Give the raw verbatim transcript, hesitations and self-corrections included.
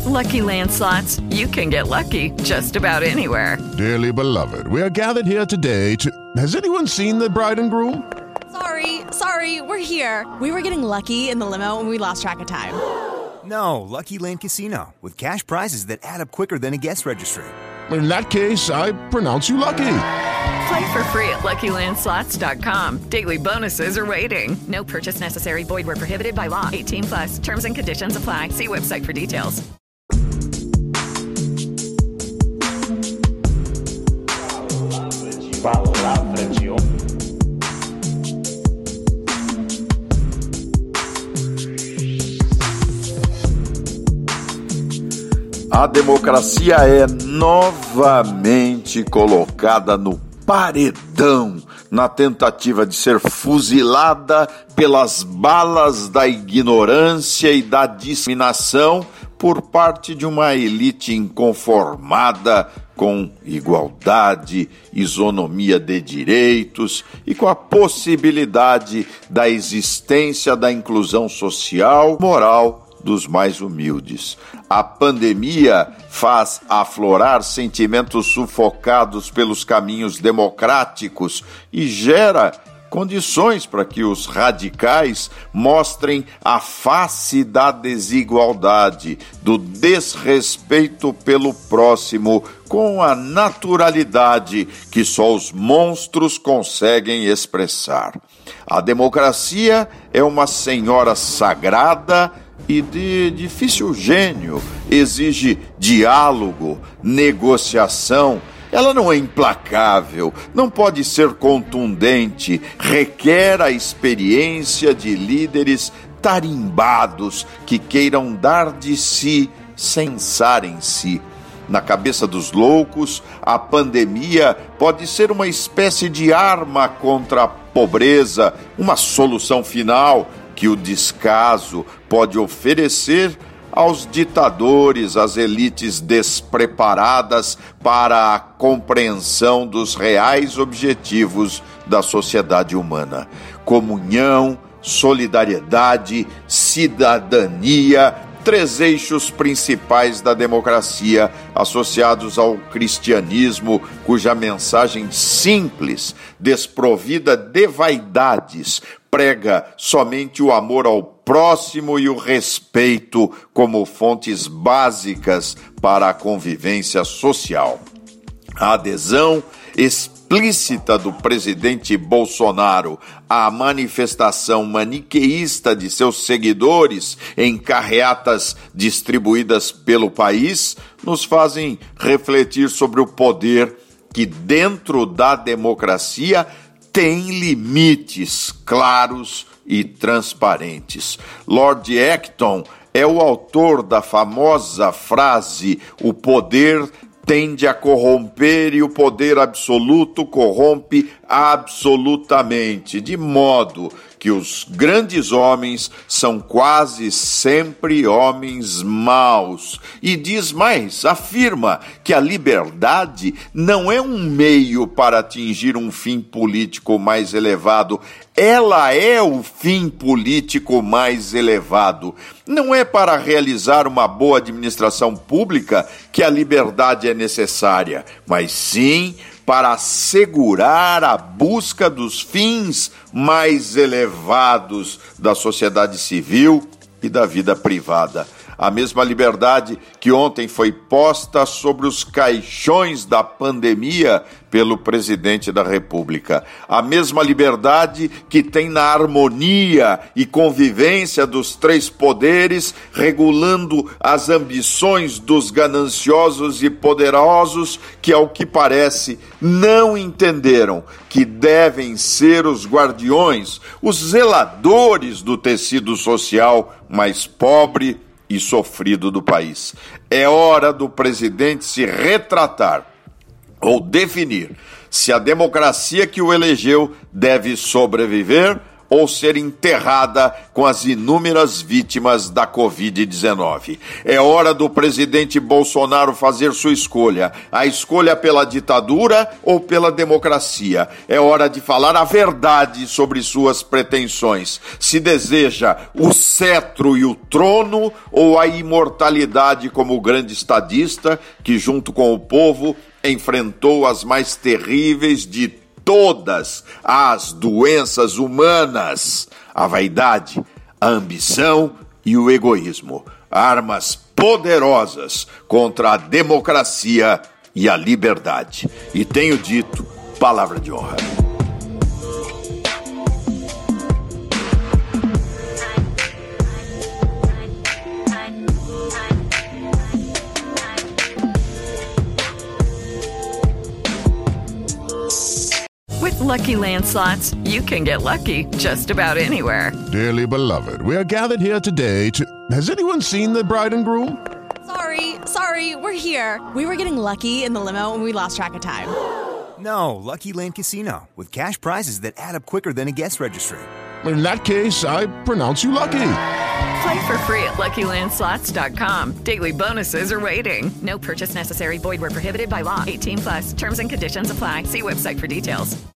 Lucky Land Slots, you can get lucky just about anywhere. Dearly beloved, we are gathered here today to... Has anyone seen the bride and groom? Sorry, sorry, we're here. We were getting lucky in the limo and we lost track of time. No, Lucky Land Casino, with cash prizes that add up quicker than a guest registry. In that case, I pronounce you lucky. Play for free at Lucky Land Slots dot com. Daily bonuses are waiting. No purchase necessary. Void where prohibited by law. eighteen plus. Terms and conditions apply. See website for details. Palavra-te. A democracia é novamente colocada no paredão na tentativa de ser fuzilada pelas balas da ignorância e da discriminação por parte de uma elite inconformada com igualdade, isonomia de direitos e com a possibilidade da existência da inclusão social, moral dos mais humildes. A pandemia faz aflorar sentimentos sufocados pelos caminhos democráticos e gera condições para que os radicais mostrem a face da desigualdade, do desrespeito pelo próximo, com a naturalidade que só os monstros conseguem expressar. A democracia é uma senhora sagrada e de difícil gênio, exige diálogo, negociação. Ela não é implacável, não pode ser contundente, requer a experiência de líderes tarimbados que queiram dar de si sem pensar em si. Na cabeça dos loucos, a pandemia pode ser uma espécie de arma contra a pobreza, uma solução final que o descaso pode oferecer aos ditadores, às elites despreparadas para a compreensão dos reais objetivos da sociedade humana. Comunhão, solidariedade, cidadania, três eixos principais da democracia associados ao cristianismo, cuja mensagem simples, desprovida de vaidades, prega somente o amor ao próximo e o respeito como fontes básicas para a convivência social. A adesão explícita do presidente Bolsonaro à manifestação maniqueísta de seus seguidores em carreatas distribuídas pelo país nos fazem refletir sobre o poder que dentro da democracia tem limites claros e transparentes. Lord Acton é o autor da famosa frase: o poder tende a corromper e o poder absoluto corrompe absolutamente, de modo que os grandes homens são quase sempre homens maus. E diz mais, afirma que a liberdade não é um meio para atingir um fim político mais elevado, ela é o fim político mais elevado. Não é para realizar uma boa administração pública que a liberdade é necessária, mas sim para assegurar a busca dos fins mais elevados da sociedade civil e da vida privada. A mesma liberdade que ontem foi posta sobre os caixões da pandemia pelo presidente da República. A mesma liberdade que tem na harmonia e convivência dos três poderes, regulando as ambições dos gananciosos e poderosos que, ao que parece, não entenderam que devem ser os guardiões, os zeladores do tecido social mais pobre e sofrido do país. É hora do presidente se retratar ou definir se a democracia que o elegeu deve sobreviver ou ser enterrada com as inúmeras vítimas da covid dezenove. É hora do presidente Bolsonaro fazer sua escolha, a escolha pela ditadura ou pela democracia. É hora de falar a verdade sobre suas pretensões. Se deseja o cetro e o trono ou a imortalidade como grande estadista que, junto com o povo, enfrentou as mais terríveis de todas as doenças humanas: a vaidade, a ambição e o egoísmo. Armas poderosas contra a democracia e a liberdade. E tenho dito, palavra de honra. With Lucky Land Slots, you can get lucky just about anywhere. Dearly beloved, we are gathered here today to... Has anyone seen the bride and groom? Sorry, sorry, we're here. We were getting lucky in the limo and we lost track of time. No, Lucky Land Casino, with cash prizes that add up quicker than a guest registry. In that case, I pronounce you lucky. Play for free at Lucky Land Slots dot com. Daily bonuses are waiting. No purchase necessary. Void where prohibited by law. eighteen plus. Terms and conditions apply. See website for details.